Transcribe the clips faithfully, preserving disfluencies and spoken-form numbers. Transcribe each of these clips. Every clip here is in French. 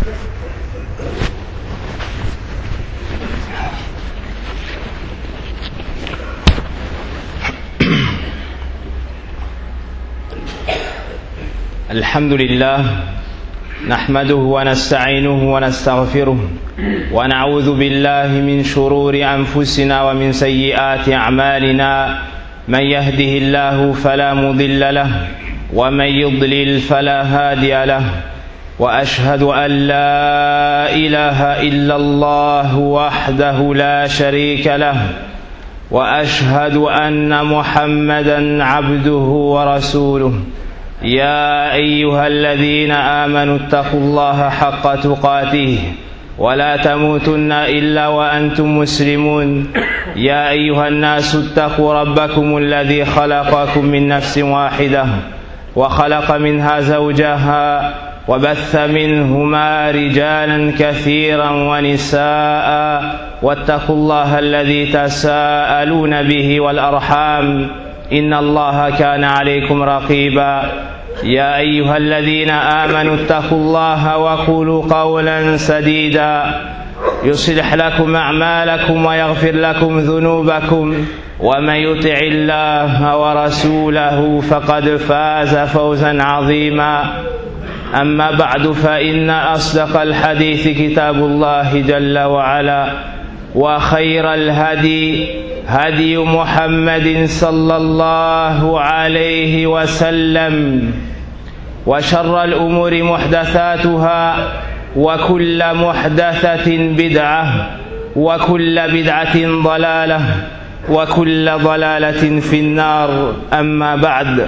الحمد لله نحمده ونستعينه ونستغفره ونعوذ بالله من شرور أنفسنا ومن سيئات أعمالنا من يهده الله فلا مضل له ومن يضلل فلا هادي له وأشهد أن لا إله إلا الله وحده لا شريك له وأشهد أن محمدا عبده ورسوله يا أيها الذين آمنوا اتقوا الله حق تقاته ولا تموتن إلا وأنتم مسلمون يا أيها الناس اتقوا ربكم الذي خلقكم من نفس واحدة وخلق منها زوجها وبث منهما رجالا كثيرا ونساء واتقوا الله الذي تساءلون به والأرحام إن الله كان عليكم رقيبا يا أيها الذين آمنوا اتقوا الله وقولوا قولا سديدا يصلح لكم أعمالكم ويغفر لكم ذنوبكم ومن يطع الله ورسوله فقد فاز فوزا عظيما أما بعد فإن أصدق الحديث كتاب الله جل وعلا وخير الهدي هدي محمد صلى الله عليه وسلم وشر الأمور محدثاتها وكل محدثة بدعة وكل بدعة ضلالة وكل ضلالة في النار أما بعد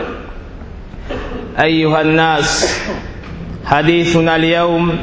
أيها الناس حديثنا اليوم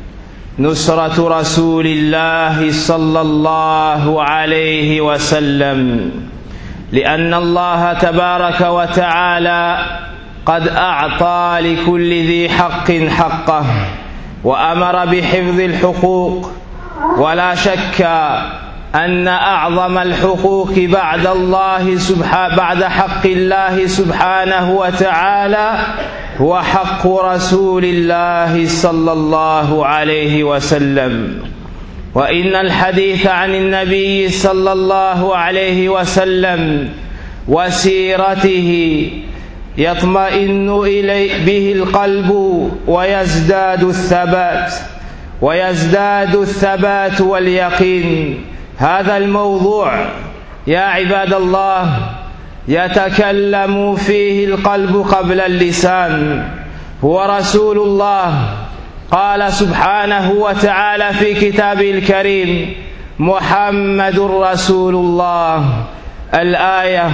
نصرة رسول الله صلى الله عليه وسلم لأن الله تبارك وتعالى قد أعطى لكل ذي حق حقه وأمر بحفظ الحقوق ولا شك أن أعظم الحقوق بعد الله سبحانه بعد حق الله سبحانه وتعالى هو حق رسول الله صلى الله عليه وسلم وإن الحديث عن النبي صلى الله عليه وسلم وسيرته يطمئن إلي به القلب ويزداد الثبات ويزداد الثبات واليقين. هذا الموضوع يا عباد الله يتكلم فيه القلب قبل اللسان. هو رسول الله، قال سبحانه وتعالى في كتابه الكريم محمد رسول الله الآية.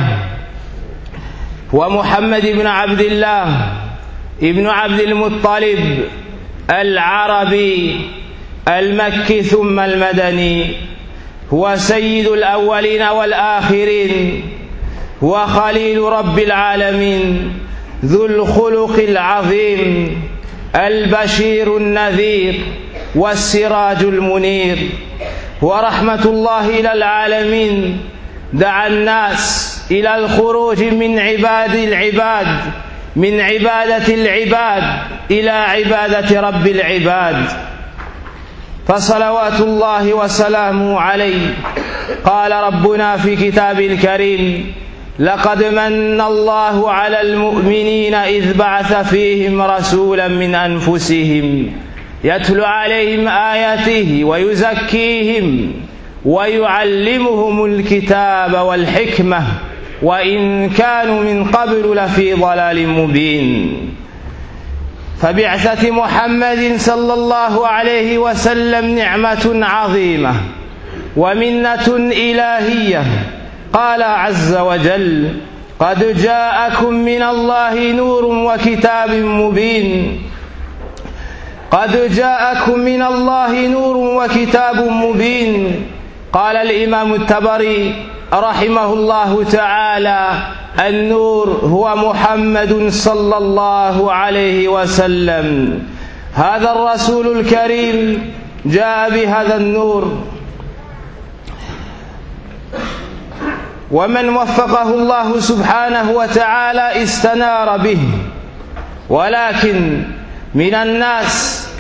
ومحمد بن عبد الله ابن عبد المطلب العربي المكي ثم المدني، هو سيد الأولين والآخرين، هو خليل رب العالمين، ذو الخلق العظيم، البشير النذير والسراج المنير، ورحمة الله إلى العالمين. دعا الناس إلى الخروج من عباد العباد من عبادة العباد إلى عبادة رب العباد، فصلوات الله وسلامه عليه. قال ربنا في كتابه الكريم لقد من الله على المؤمنين إذ بعث فيهم رسولا من أنفسهم يتلو عليهم آياته ويزكيهم ويعلمهم الكتاب والحكمة وإن كانوا من قبل لفي ضلال مبين. فبعثة محمد صلى الله عليه وسلم نعمة عظيمة ومنة إلهية. قال عز وجل قد جاءكم من الله نور وكتاب مبين. قد جاءكم من الله نور وكتاب مبين. قال الإمام الطبري رحمه الله تعالى النور هو محمد صلى الله عليه وسلم. هذا الرسول الكريم جاء بهذا النور، ومن وفقه الله سبحانه وتعالى استنار به. ولكن من الناس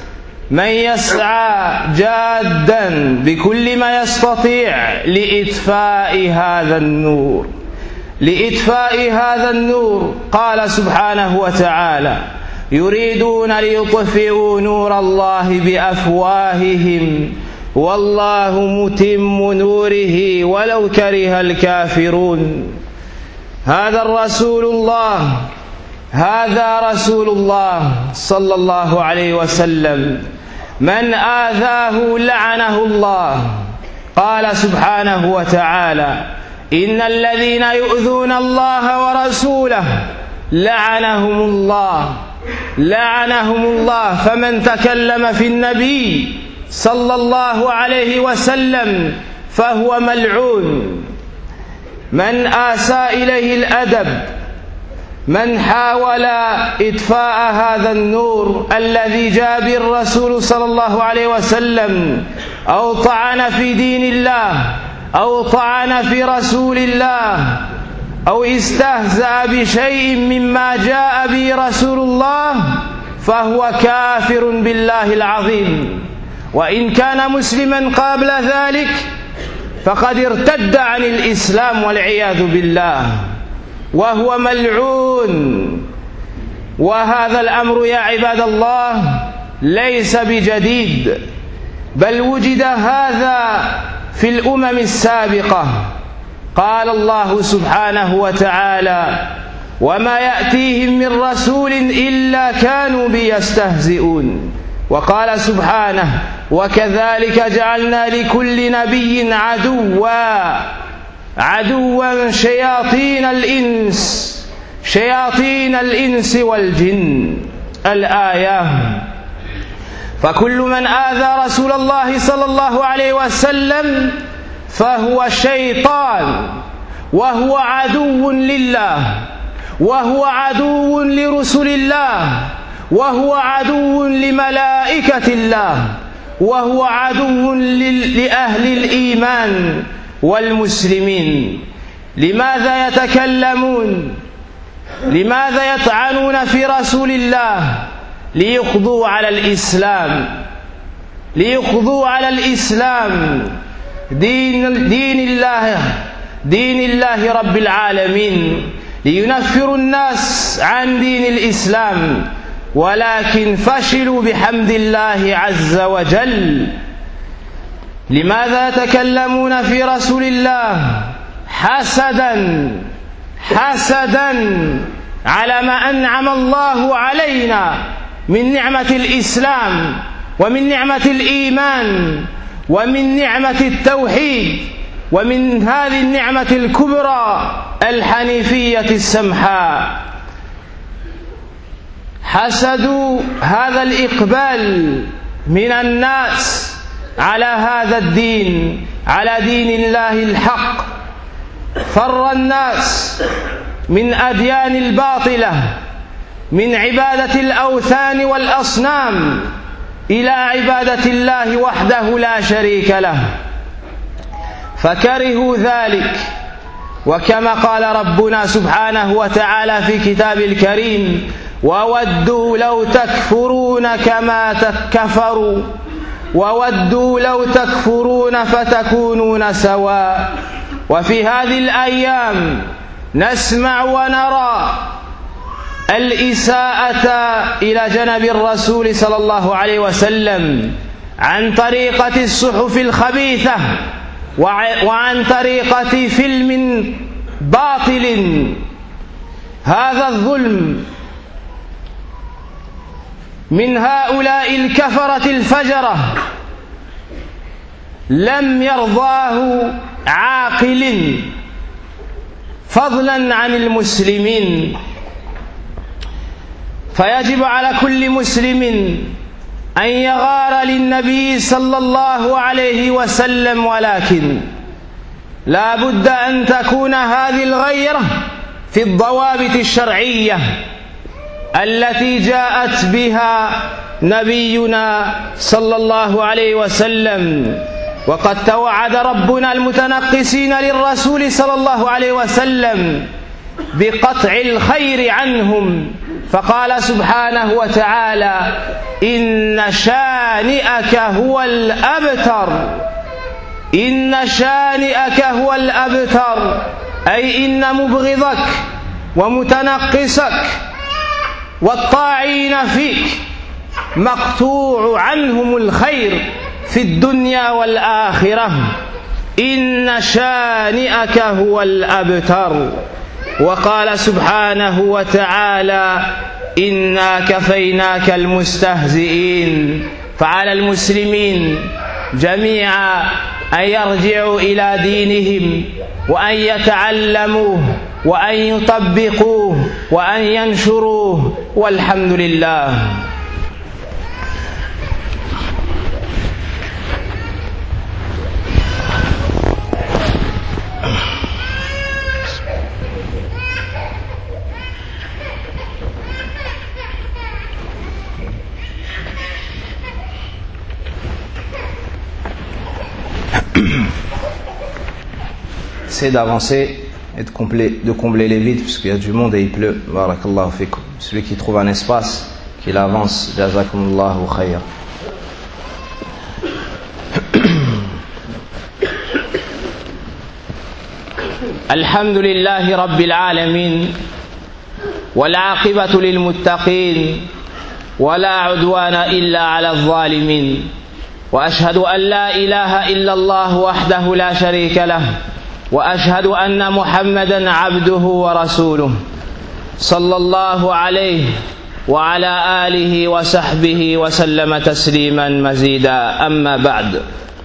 من يسعى جادا بكل ما يستطيع لإطفاء هذا النور لإطفاء هذا النور. قال سبحانه وتعالى: يريدون ليطفئوا نور الله بأفواههم والله متم نوره ولو كره الكافرون. هذا الرسول الله هذا رسول الله صلى الله عليه وسلم، من آذاه لعنه الله. قال سبحانه وتعالى: إن الذين يؤذون الله ورسوله لعنهم الله لعنهم الله. فمن تكلم في النبي صلى الله عليه وسلم فهو ملعون. من آسى إليه الأدب، من حاول إطفاء هذا النور الذي جاء به الرسول صلى الله عليه وسلم، أو طعن في دين الله، أو طعن في رسول الله، أو استهزأ بشيء مما جاء به رسول الله، فهو كافر بالله العظيم. وإن كان مسلما قبل ذلك فقد ارتد عن الإسلام والعياذ بالله، وهو ملعون. وهذا الأمر يا عباد الله ليس بجديد، بل وجد هذا في الأمم السابقة. قال الله سبحانه وتعالى: وما يأتيهم من رسول إلا كانوا به يستهزئون. وقال سبحانه: وكذلك جعلنا لكل نبي عدوا عدوا شياطين الإنس شياطين الإنس والجن. الآية. فكل من آذى رسول الله صلى الله عليه وسلم فهو شيطان، وهو عدو لله، وهو عدو لرسل الله، وهو عدو لملائكة الله، وهو عدو لأهل الإيمان والمسلمين. لماذا يتكلمون؟ لماذا يطعنون في رسول الله؟ ليقضوا على الإسلام ليقضوا على الإسلام دين, دين الله دين الله رب العالمين، لينفروا الناس عن دين الإسلام، ولكن فشلوا بحمد الله عز وجل. لماذا يتكلمون في رسول الله؟ حسدا حسدا على ما أنعم الله علينا من نعمة الإسلام، ومن نعمة الإيمان، ومن نعمة التوحيد، ومن هذه النعمة الكبرى الحنيفية السمحاء. حسدوا هذا الإقبال من الناس على هذا الدين، على دين الله الحق. فر الناس من أديان الباطلة، من عبادة الأوثان والأصنام، إلى عبادة الله وحده لا شريك له، فكرهوا ذلك. وكما قال ربنا سبحانه وتعالى في كتاب الكريم: وودوا لو تكفرون كما كفروا وودوا لو تكفرون فتكونون سواء. وفي هذه الأيام نسمع ونرى الإساءة إلى جنب الرسول صلى الله عليه وسلم عن طريقة الصحف الخبيثة، وعن طريقة فيلم باطل. هذا الظلم من هؤلاء الكفرة الفجرة لم يرضاه عاقل، فضلا عن المسلمين. فيجب على كل مسلم أن يغار للنبي صلى الله عليه وسلم، ولكن لا بد أن تكون هذه الغيرة في الضوابط الشرعية التي جاءت بها نبينا صلى الله عليه وسلم. وقد توعد ربنا المتنقصين للرسول صلى الله عليه وسلم بقطع الخير عنهم، فقال سبحانه وتعالى: إن شانئك شانئك هو الأبتر إن شانئك هو الأبتر أي إن مبغضك ومتنقصك والطاعين فيك مقطوع عنهم الخير في الدنيا والآخرة إن شانئك هو الأبتر. وقال سبحانه وتعالى إنا كفيناك المستهزئين. فعلى المسلمين جميعا أن يرجعوا إلى دينهم وأن يتعلموه وأن يطبقوه وأن ينشروه والحمد لله. Essayez d'avancer et de combler, de combler les vides puisqu'il y a du monde et il pleut. Barakallahu fikum. Celui qui trouve un espace, qu'il avance. Jazakumullahu khayr. Alhamdulillahi Rabbil Alamin wal aqibatu lil muttaqin wa la udwana illa ala adh-dhalimin wa ashhadu an la ilaha illa Allah wahdahu la sharika lah وأشهد أن محمدًا عبده ورسوله صلى الله عليه وعلى آله وصحبه وسلم تسليمًا مزيدا أما بعد.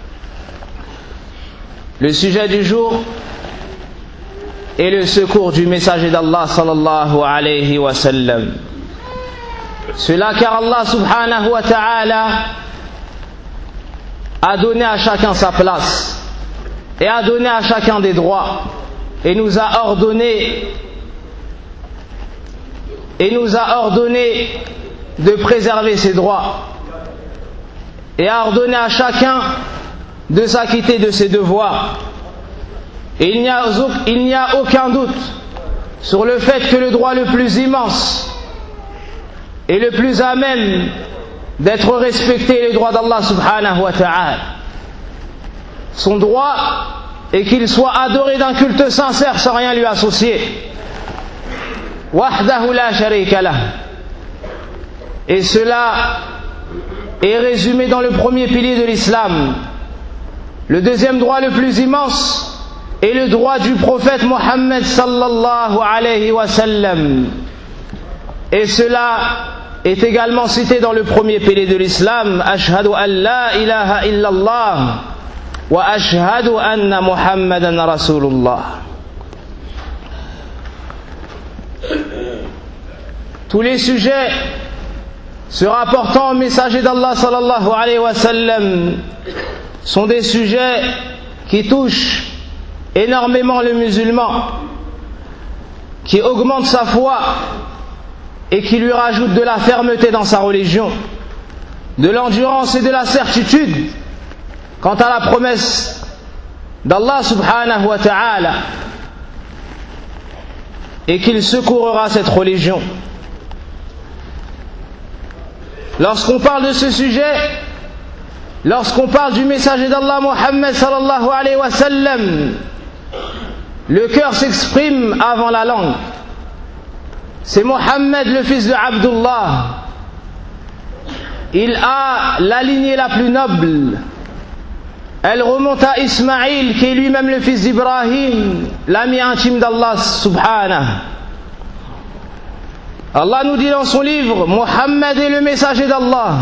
Le sujet du jour est le secours du messager d'Allah sallallahu alayhi wa sallam. Cela car Allah subhanahu wa ta'ala a donné à chacun sa place et a donné à chacun des droits et nous a ordonné et nous a ordonné de préserver ses droits et a ordonné à chacun de s'acquitter de ses devoirs. Et il n'y a, il n'y a aucun doute sur le fait que le droit le plus immense et le plus à même d'être respecté est le droit d'Allah subhanahu wa ta'ala. Son droit est qu'il soit adoré d'un culte sincère sans rien lui associer. Wahdahu la sharika lah. Et cela est résumé dans le premier pilier de l'islam. Le deuxième droit le plus immense est le droit du prophète Mohammed sallallahu alayhi wa sallam. Et cela est également cité dans le premier pilier de l'islam. Ashhadu an la ilaha illallah wa ashhadu anna Muhammadan Rasulullah. Tous les sujets se rapportant au messager d'Allah sallallahu alayhi wa sallam sont des sujets qui touchent énormément le musulman, qui augmentent sa foi et qui lui rajoutent de la fermeté dans sa religion, de l'endurance et de la certitude quant à la promesse d'Allah subhanahu wa ta'ala, et qu'il secourra cette religion. Lorsqu'on parle de ce sujet, lorsqu'on parle du messager d'Allah Muhammad sallallahu alayhi wa sallam, le cœur s'exprime avant la langue. C'est Mohammed, le fils de Abdullah. Il a la lignée la plus noble. Elle remonte à Ismaïl, qui est lui-même le fils d'Ibrahim, l'ami intime d'Allah subhanahu. Allah nous dit dans son livre, Mohammed est le messager d'Allah.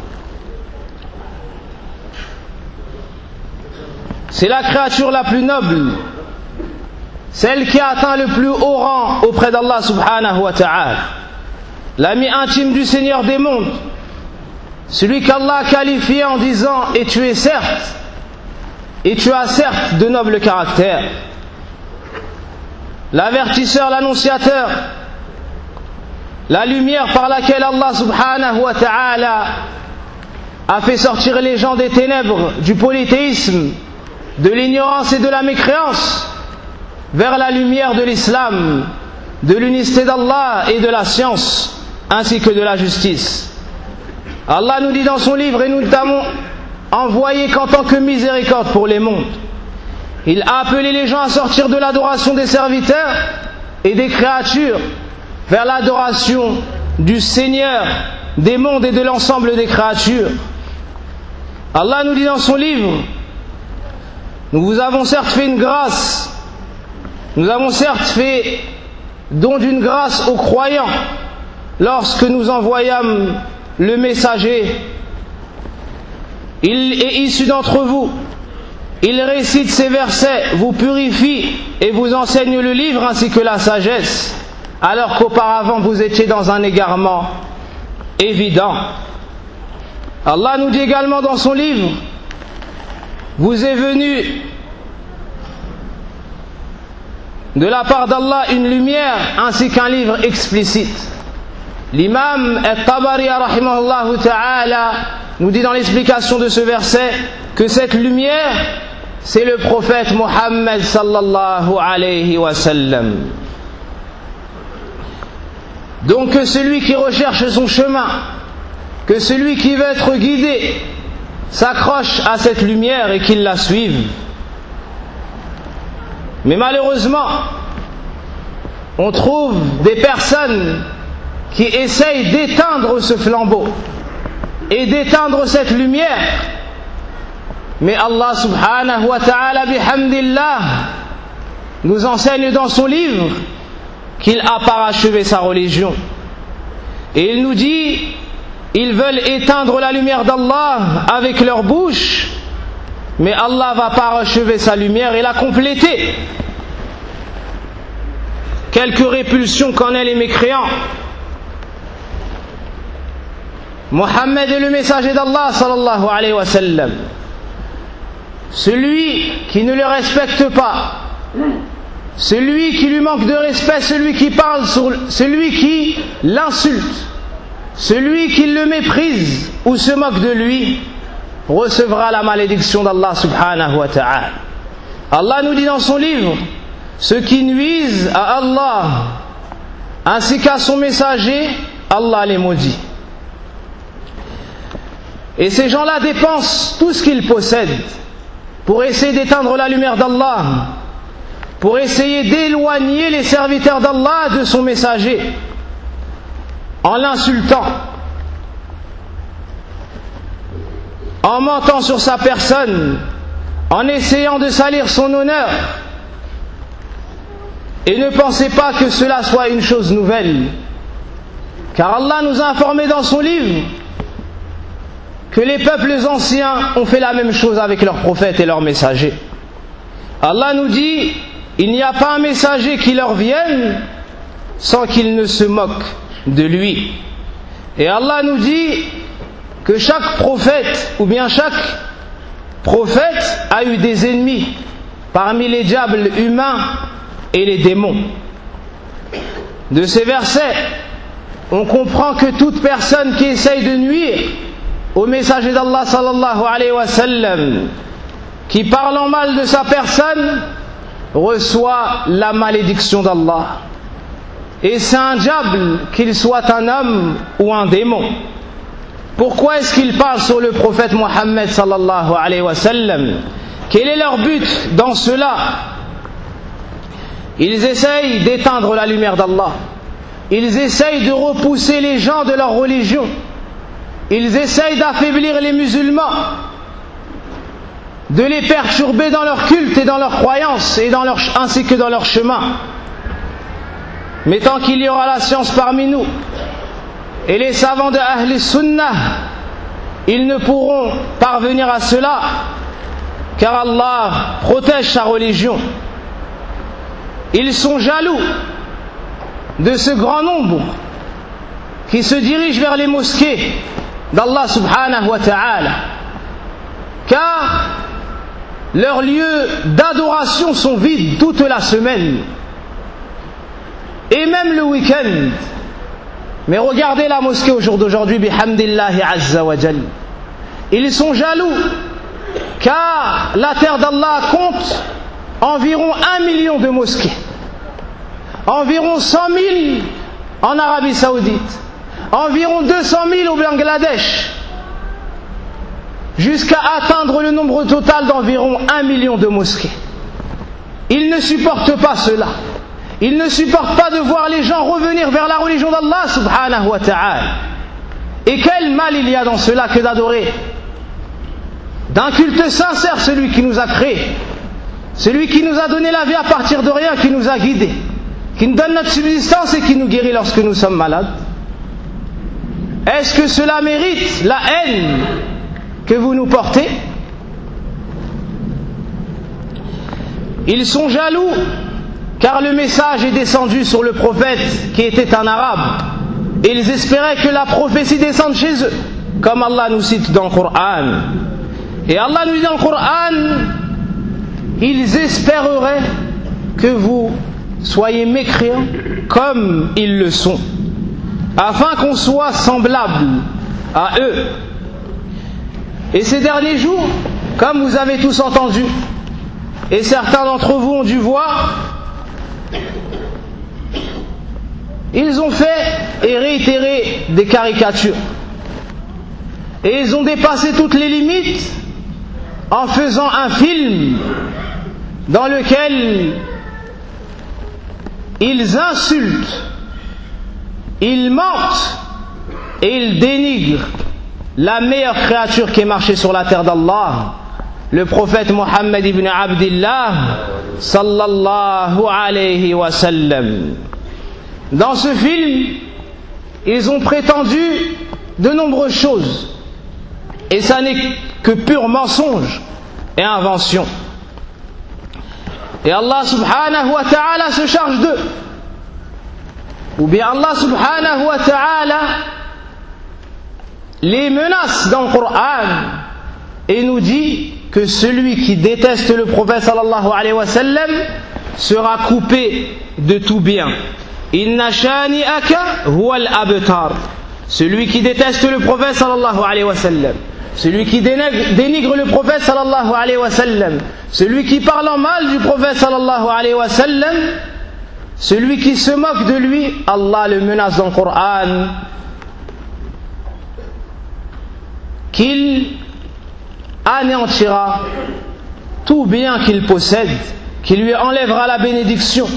C'est la créature la plus noble, celle qui a atteint le plus haut rang auprès d'Allah subhanahu wa ta'ala, l'ami intime du Seigneur des mondes, celui qu'Allah a qualifié en disant « Et tu es certes, et tu as certes de nobles caractères », l'avertisseur, l'annonciateur, la lumière par laquelle Allah subhanahu wa ta'ala a fait sortir les gens des ténèbres, du polythéisme, de l'ignorance et de la mécréance, vers la lumière de l'islam, de l'unicité d'Allah et de la science, ainsi que de la justice. Allah nous dit dans son livre, et nous ne t'avons envoyé qu'en tant que miséricorde pour les mondes. Il a appelé les gens à sortir de l'adoration des serviteurs et des créatures vers l'adoration du Seigneur des mondes et de l'ensemble des créatures. Allah nous dit dans son livre, nous vous avons certes fait une grâce, nous avons certes fait don d'une grâce aux croyants lorsque nous envoyâmes le messager. Il est issu d'entre vous, il récite ces versets, vous purifie et vous enseigne le livre ainsi que la sagesse, alors qu'auparavant vous étiez dans un égarement évident. Allah nous dit également dans son livre, vous est venu de la part d'Allah une lumière ainsi qu'un livre explicite. L'imam Al-Tabari rahimahullah ta'ala nous dit dans l'explication de ce verset que cette lumière, c'est le prophète Mohammed sallallahu alayhi wa sallam. Donc que celui qui recherche son chemin, que celui qui veut être guidé, s'accroche à cette lumière et qu'il la suive. Mais malheureusement, on trouve des personnes qui essayent d'éteindre ce flambeau et d'éteindre cette lumière. Mais Allah subhanahu wa ta'ala bihamdillah nous enseigne dans son livre qu'il a parachevé sa religion. Et il nous dit, ils veulent éteindre la lumière d'Allah avec leur bouche, mais Allah va parachever sa lumière et la compléter. Quelques répulsions qu'en aient les mécréants. Mohammed est le messager d'Allah sallallahu alayhi wa sallam. Celui qui ne le respecte pas, celui qui lui manque de respect, celui qui parle sur, celui qui l'insulte, celui qui le méprise ou se moque de lui, recevra la malédiction d'Allah subhanahu wa ta'ala. Allah nous dit dans son livre, ceux qui nuisent à Allah ainsi qu'à son messager, Allah les maudit. Et ces gens-là dépensent tout ce qu'ils possèdent pour essayer d'éteindre la lumière d'Allah, pour essayer d'éloigner les serviteurs d'Allah de son messager, en l'insultant, en mentant sur sa personne, en essayant de salir son honneur. Et ne pensez pas que cela soit une chose nouvelle, car Allah nous a informé dans son livre que les peuples anciens ont fait la même chose avec leurs prophètes et leurs messagers. Allah nous dit, il n'y a pas un messager qui leur vienne sans qu'il ne se moque de lui. Et Allah nous dit que chaque prophète, ou bien chaque prophète a eu des ennemis parmi les diables humains et les démons. De ces versets, on comprend que toute personne qui essaye de nuire au messager d'Allah sallallahu alayhi wa sallam, qui parle en mal de sa personne, reçoit la malédiction d'Allah. Et c'est un diable, qu'il soit un homme ou un démon. Pourquoi est-ce qu'ils parlent sur le prophète Mohammed sallallahu alayhi wa sallam? Quel est leur but dans cela? Ils essayent d'éteindre la lumière d'Allah. Ils essayent de repousser les gens de leur religion. Ils essayent d'affaiblir les musulmans, de les perturber dans leur culte et dans leurs croyances, et dans leur, ainsi que dans leur chemin. Mais tant qu'il y aura la science parmi nous, et les savants de Ahl Sunnah, ils ne pourront parvenir à cela, car Allah protège sa religion. Ils sont jaloux de ce grand nombre qui se dirige vers les mosquées d'Allah subhanahu wa ta'ala, car leurs lieux d'adoration sont vides toute la semaine et même le week-end. Mais regardez la mosquée au jour d'aujourd'hui, bihamdillahi azza wa jal. Ils sont jaloux car la terre d'Allah compte environ un million de mosquées, environ cent mille en Arabie Saoudite, environ deux cent mille au Bangladesh, jusqu'à atteindre le nombre total d'environ un million de mosquées. Ils ne supportent pas cela. Ils ne supportent pas de voir les gens revenir vers la religion d'Allah subhanahu wa ta'ala. Et quel mal il y a dans cela que d'adorer d'un culte sincère celui qui nous a créés, celui qui nous a donné la vie à partir de rien, qui nous a guidés, qui nous donne notre subsistance et qui nous guérit lorsque nous sommes malades. Est-ce que cela mérite la haine que vous nous portez? Ils sont jaloux car le message est descendu sur le prophète qui était un arabe et ils espéraient que la prophétie descende chez eux, comme Allah nous cite dans le Coran. Et Allah nous dit dans le Coran, ils espéreraient que vous soyez mécréants comme ils le sont, afin qu'on soit semblable à eux. Et ces derniers jours, comme vous avez tous entendu, et certains d'entre vous ont dû voir, ils ont fait et réitéré des caricatures. Et ils ont dépassé toutes les limites en faisant un film dans lequel ils insultent, ils mentent et ils dénigrent la meilleure créature qui est marchée sur la terre d'Allah, le prophète Mohammed ibn Abdillah sallallahu alayhi wa sallam. Dans ce film, ils ont prétendu de nombreuses choses, et ça n'est que pur mensonge et invention. Et Allah subhanahu wa ta'ala se charge d'eux. Ou bien Allah subhanahu wa ta'ala les menace dans le Coran et nous dit que celui qui déteste le prophète sallallahu alayhi wa sallam sera coupé de tout bien. Inna shani'aka huwa al-abtar. Celui qui déteste le prophète sallallahu alayhi wa sallam, celui qui dénigre, dénigre le prophète sallallahu alayhi wa sallam, celui qui parle en mal du prophète sallallahu alayhi wa sallam, celui qui se moque de lui, Allah le menace dans le Coran qu'il anéantira tout bien qu'il possède, qu'il lui enlèvera la bénédiction.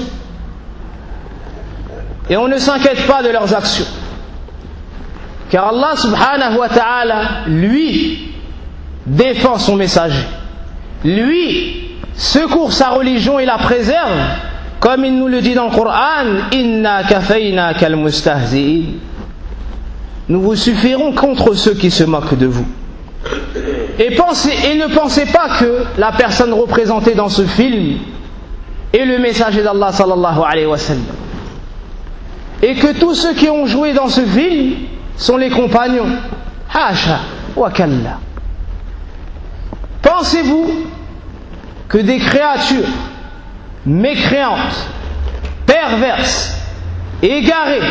Et on ne s'inquiète pas de leurs actions, car Allah subhanahu wa ta'ala, lui, défend son messager. Lui secourt sa religion et la préserve, comme il nous le dit dans le Coran, Inna kafayna kal mustahzi'in. Nous vous suffirons contre ceux qui se moquent de vous. Et, pensez, et ne pensez pas que la personne représentée dans ce film est le messager d'Allah sallallahu alayhi wa sallam, et que tous ceux qui ont joué dans ce film sont les compagnons. Hasha wa kalla. Pensez-vous que des créatures mécréantes, perverses, égarées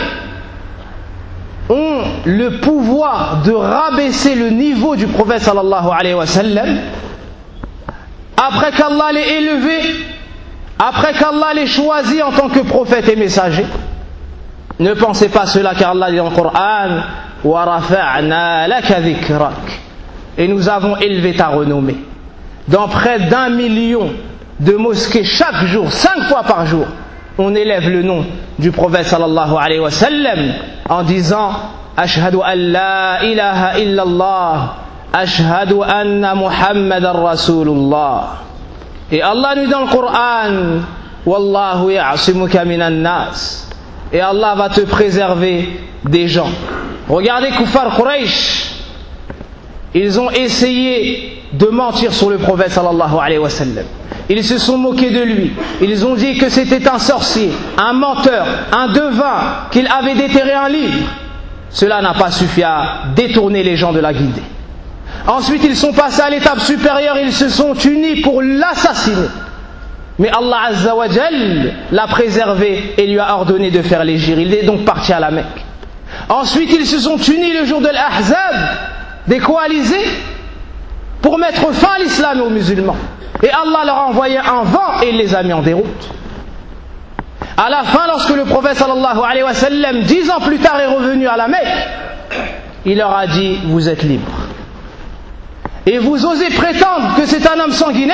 ont le pouvoir de rabaisser le niveau du prophète sallallahu alayhi wa sallam après qu'Allah l'ait élevé, après qu'Allah l'ait choisi en tant que prophète et messager? Ne pensez pas cela, car Allah dit dans le Coran, wa rafa'na laka dhikrak, et nous avons élevé ta renommée. Dans près d'un million de mosquées chaque jour, cinq fois par jour, on élève le nom du prophète sallallahu alayhi wa sallam en disant ashhadu an la ilaha illallah, ashhadu anna muhammadan rasulullah. Et Allah nous dit dans le Coran, wallahu ya'simuka minan nas, et Allah va te préserver des gens. Regardez Kuffar Quraysh, ils ont essayé de mentir sur le prophète sallallahu alayhi wa sallam. Ils se sont moqués de lui. Ils ont dit que c'était un sorcier, un menteur, un devin, qu'il avait déterré un livre. Cela n'a pas suffi à détourner les gens de la guidée. Ensuite, ils sont passés à l'étape supérieure, ils se sont unis pour l'assassiner. Mais Allah Azza wa Jal l'a préservé et lui a ordonné de faire l'hégire. Il est donc parti à la Mecque. Ensuite, ils se sont unis le jour de l'Ahzab, des coalisés, pour mettre fin à l'islam et aux musulmans. Et Allah leur a envoyé un vent et il les a mis en déroute. À la fin, lorsque le prophète sallallahu alayhi wa sallam, dix ans plus tard, est revenu à la Mecque, il leur a dit, vous êtes libres. Et vous osez prétendre que c'est un homme sanguinaire?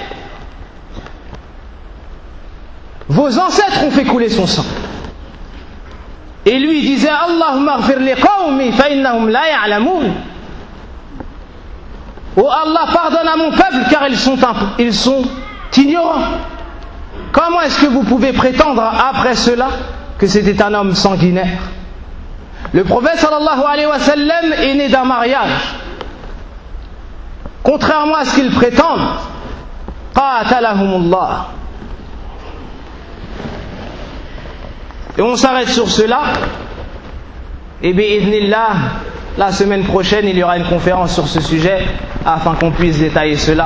Vos ancêtres ont fait couler son sang. Et lui disait, Allahumma ghfir li qawmi fa innahum la ya'lamun. Oh Allah, pardonne à mon peuple car ils sont, ils sont ignorants. Comment est-ce que vous pouvez prétendre après cela que c'était un homme sanguinaire? Le prophète sallallahu alayhi wa sallam est né d'un mariage. Contrairement à ce qu'ils prétendent, qatalahumullah. Et on s'arrête sur cela. Et bi'idhnillah, la semaine prochaine, il y aura une conférence sur ce sujet afin qu'on puisse détailler cela.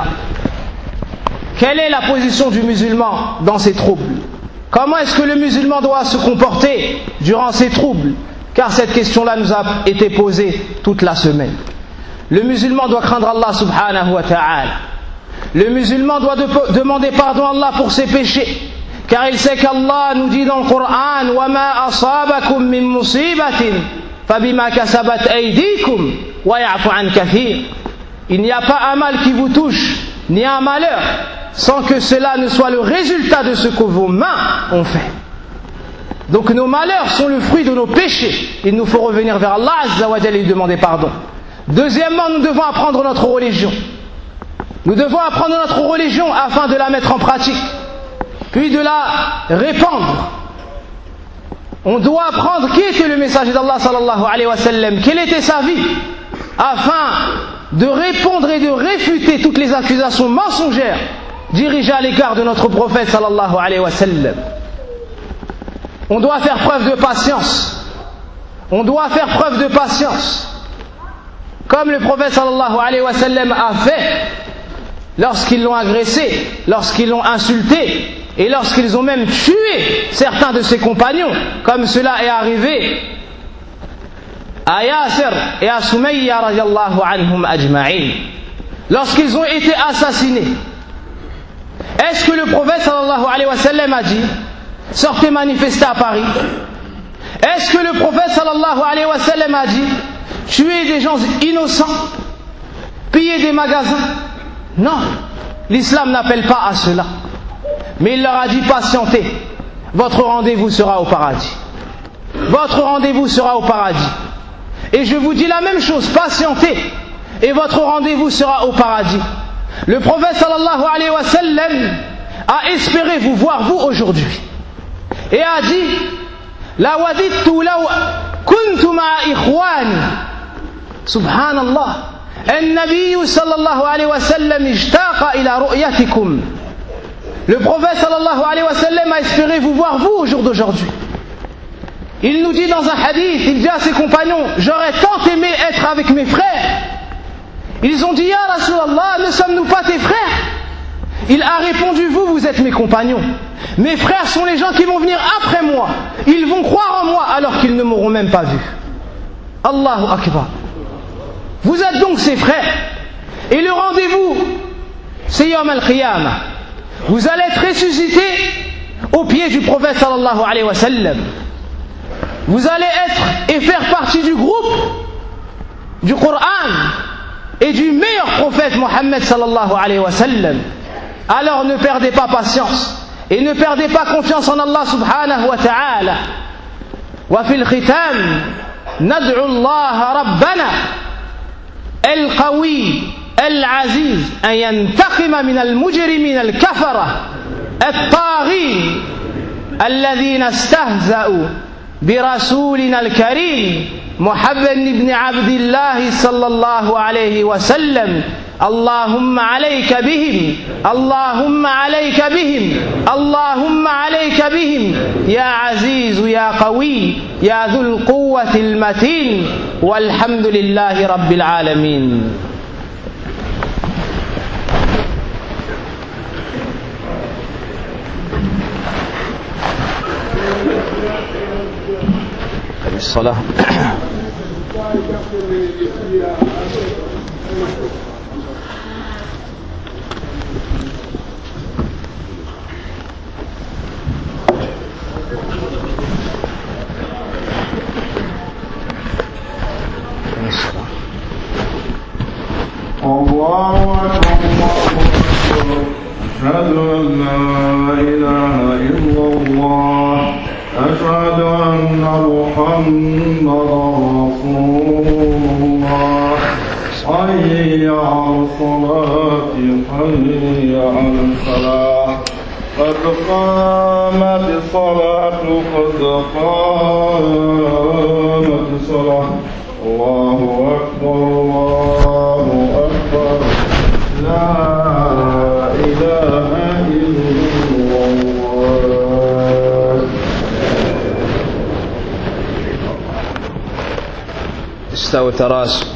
Quelle est la position du musulman dans ces troubles? Comment est-ce que le musulman doit se comporter durant ces troubles? Car cette question-là nous a été posée toute la semaine. Le musulman doit craindre Allah subhanahu wa ta'ala. Le musulman doit de- demander pardon à Allah pour ses péchés. Car il sait qu'Allah nous dit dans le Coran وَمَا أَصَابَكُم مِّن مُّصِيبَةٍ فَبِمَا كَسَبَتْ أَيْدِيكُمْ وَيَعْفُ عَنْ كَثِيرٍ. Il n'y a pas un mal qui vous touche, ni un malheur, sans que cela ne soit le résultat de ce que vos mains ont fait. Donc nos malheurs sont le fruit de nos péchés. Il nous faut revenir vers Allah Azza wa Jalla et lui demander pardon. Deuxièmement, nous devons apprendre notre religion. Nous devons apprendre notre religion afin de la mettre en pratique, puis de la répandre. On doit apprendre qui était le messager d'Allah sallallahu alayhi wa sallam, quelle était sa vie, afin de répondre et de réfuter toutes les accusations mensongères dirigées à l'égard de notre prophète sallallahu alayhi wa sallam. On doit faire preuve de patience. On doit faire preuve de patience. Comme le prophète sallallahu alayhi wa sallam a fait lorsqu'ils l'ont agressé, lorsqu'ils l'ont insulté et lorsqu'ils ont même tué certains de ses compagnons, comme cela est arrivé à Yasir et à Sumayya radiyallahu anhum ajma'in, lorsqu'ils ont été assassinés. Est-ce que le prophète sallallahu alayhi wa sallam a dit sortez manifester à Paris? Est-ce que le prophète sallallahu alayhi wa sallam a dit tuer des gens innocents, piller des magasins? Non, l'islam n'appelle pas à cela. Mais il leur a dit patientez, votre rendez-vous sera au paradis. Votre rendez-vous sera au paradis. Et je vous dis la même chose, patientez, et votre rendez-vous sera au paradis. Le prophète sallallahu alayhi wa sallam a espéré vous voir vous aujourd'hui. Et a dit la wadittu law kuntu ma'a ikhwani. Subhanallah. النبي صلى الله عليه وسلم اشتاق إلى رؤيتكم. Le prophète sallallahu alayhi wa sallam a espéré vous voir vous au jour d'aujourd'hui. Il nous dit dans un hadith, il dit à ses compagnons, j'aurais tant aimé être avec mes frères. Ils ont dit, Ya Rasulallah, ne sommes-nous pas tes frères? Il a répondu, vous, vous êtes mes compagnons. Mes frères sont les gens qui vont venir après moi. Ils vont croire en moi alors qu'ils ne m'auront même pas vu. Allahu Akbar. Vous êtes donc ses frères. Et le rendez-vous, c'est Yawm al-Qiyamah. Vous allez être ressuscités au pied du prophète sallallahu alayhi wa sallam. Vous allez être et faire partie du groupe du Coran et du meilleur prophète Mohammed sallallahu alayhi wa sallam. Alors ne perdez pas patience et ne perdez pas confiance en Allah subhanahu wa ta'ala. Wa fil khitam nad'u Allah rabbana al-qawi al-aziz an yantaqima min al-mujrimin al-kafara at-taghin alladhina istahza'u برسولنا الكريم محمد بن عبد الله صلى الله عليه وسلم اللهم عليك بهم اللهم عليك بهم اللهم عليك بهم يا عزيز يا قوي يا ذو القوة المتين والحمد لله رب العالمين. الصلاة الله أكبر أشهد أن لا إله إلا الله أشهد أن محمدا رسول الله حي على الصلاة حي على الفلاح قد قامت الصلاة قد قامت الصلاة الله أكبر الله أكبر لا إله إلا الله. استووا تراس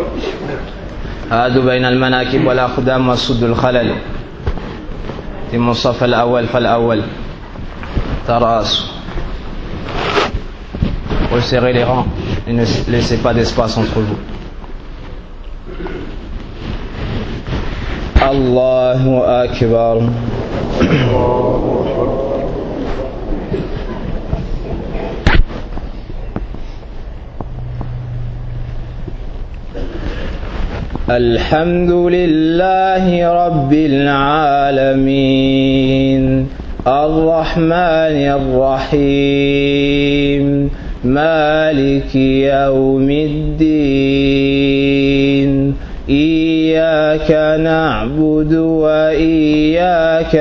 هادوا بين المناكب والأقدام وسدوا الخلل تم الصف الأول فالأول تراس resserrez les rangs et ne laissez pas d'espace entre vous. Allahu Akbar. الحمد لله رب العالمين الرحمن الرحيم مالك يوم الدين إياك نعبد وإياك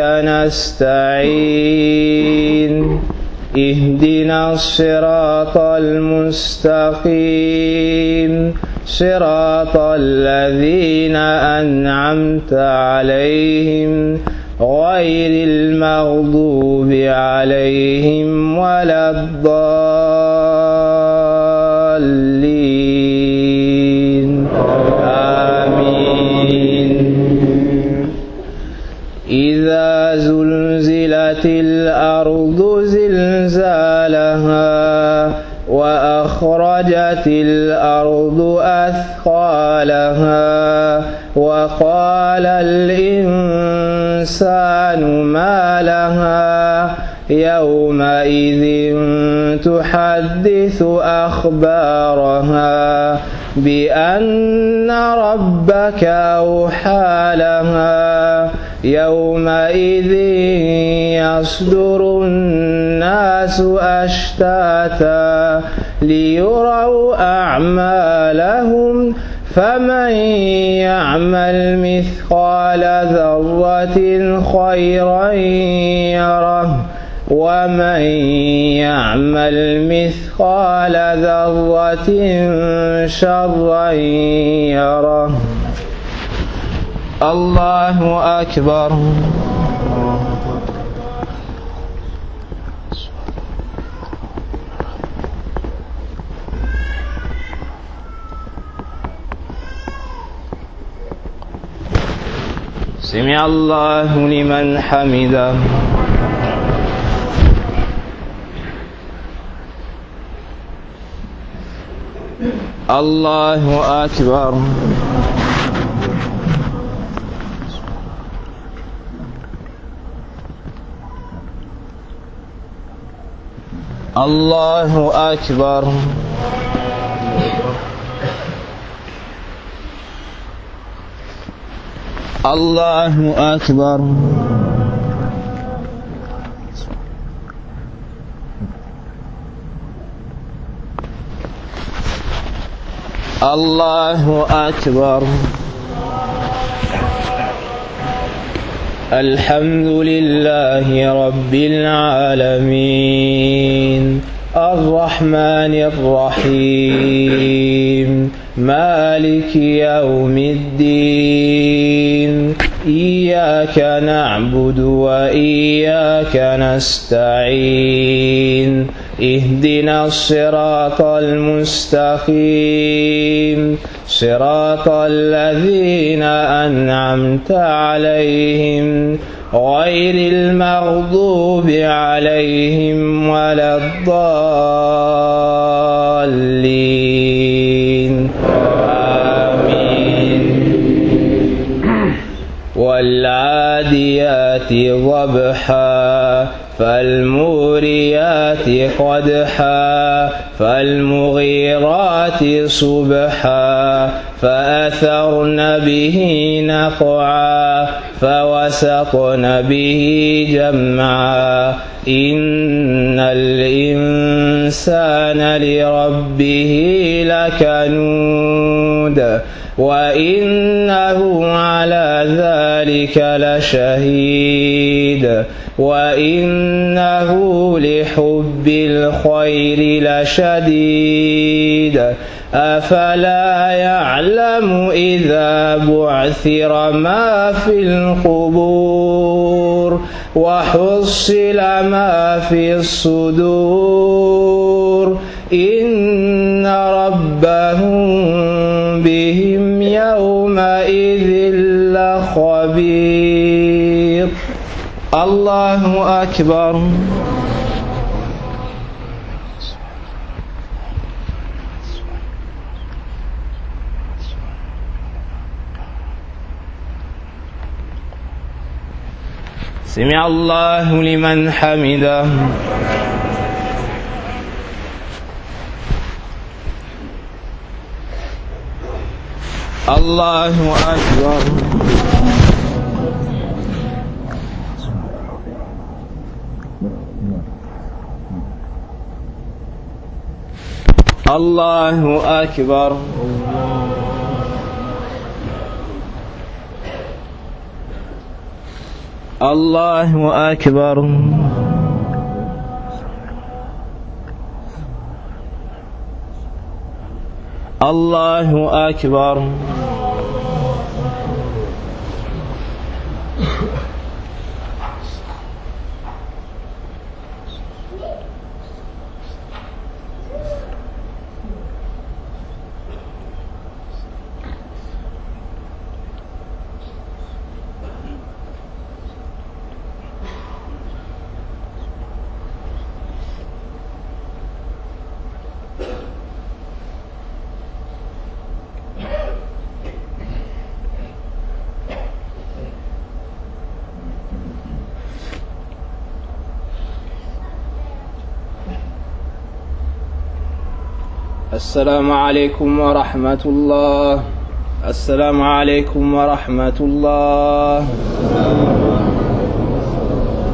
نستعين اهدنا الصراط المستقيم صراط الذين أنعمت عليهم غير المغضوب عليهم ولا الضالين آمين. إذا زلزلت الأرض زلزالها وأخرجت الأرض أثقالها وقال الإنسان ما لها يومئذ تحدث أخبارها بأن ربك أوحى لها يومئذ يصدر الناس أشتاتا ليروا أعمالهم فمن يعمل مثقال ذرة خيرا يره ومن يعمل مثقال ذرة شرا يره. الله أكبر. سمع الله لمن حمده. الله أكبر. الله أكبر. الله أكبر. الله أكبر. الحمد لله رب العالمين الرحمن الرحيم مالك يوم الدين إياك نعبد وإياك نستعين اهدنا الصراط المستقيم صراط الذين أنعمت عليهم غير المغضوب عليهم ولا الضالين آمين. والعاديات ضبحا فالموريات قدحا فالمغيرات صبحا فأثرن به نقعا فوسطن به جمعا إن الإنسان لربه لكنود وإنه على ذلك لشهيد وإنه لحب الخير لشديد أفلا يعلم إذا بعثر ما في القبور وحصل ما في الصدور إن ربهم بهم يومئذ لخبير. الله أكبر. سمع الله لمن حمده. الله أكبر. الله أكبر. الله أكبر. الله أكبر. السلام عليكم ورحمة الله. السلام عليكم ورحمة الله.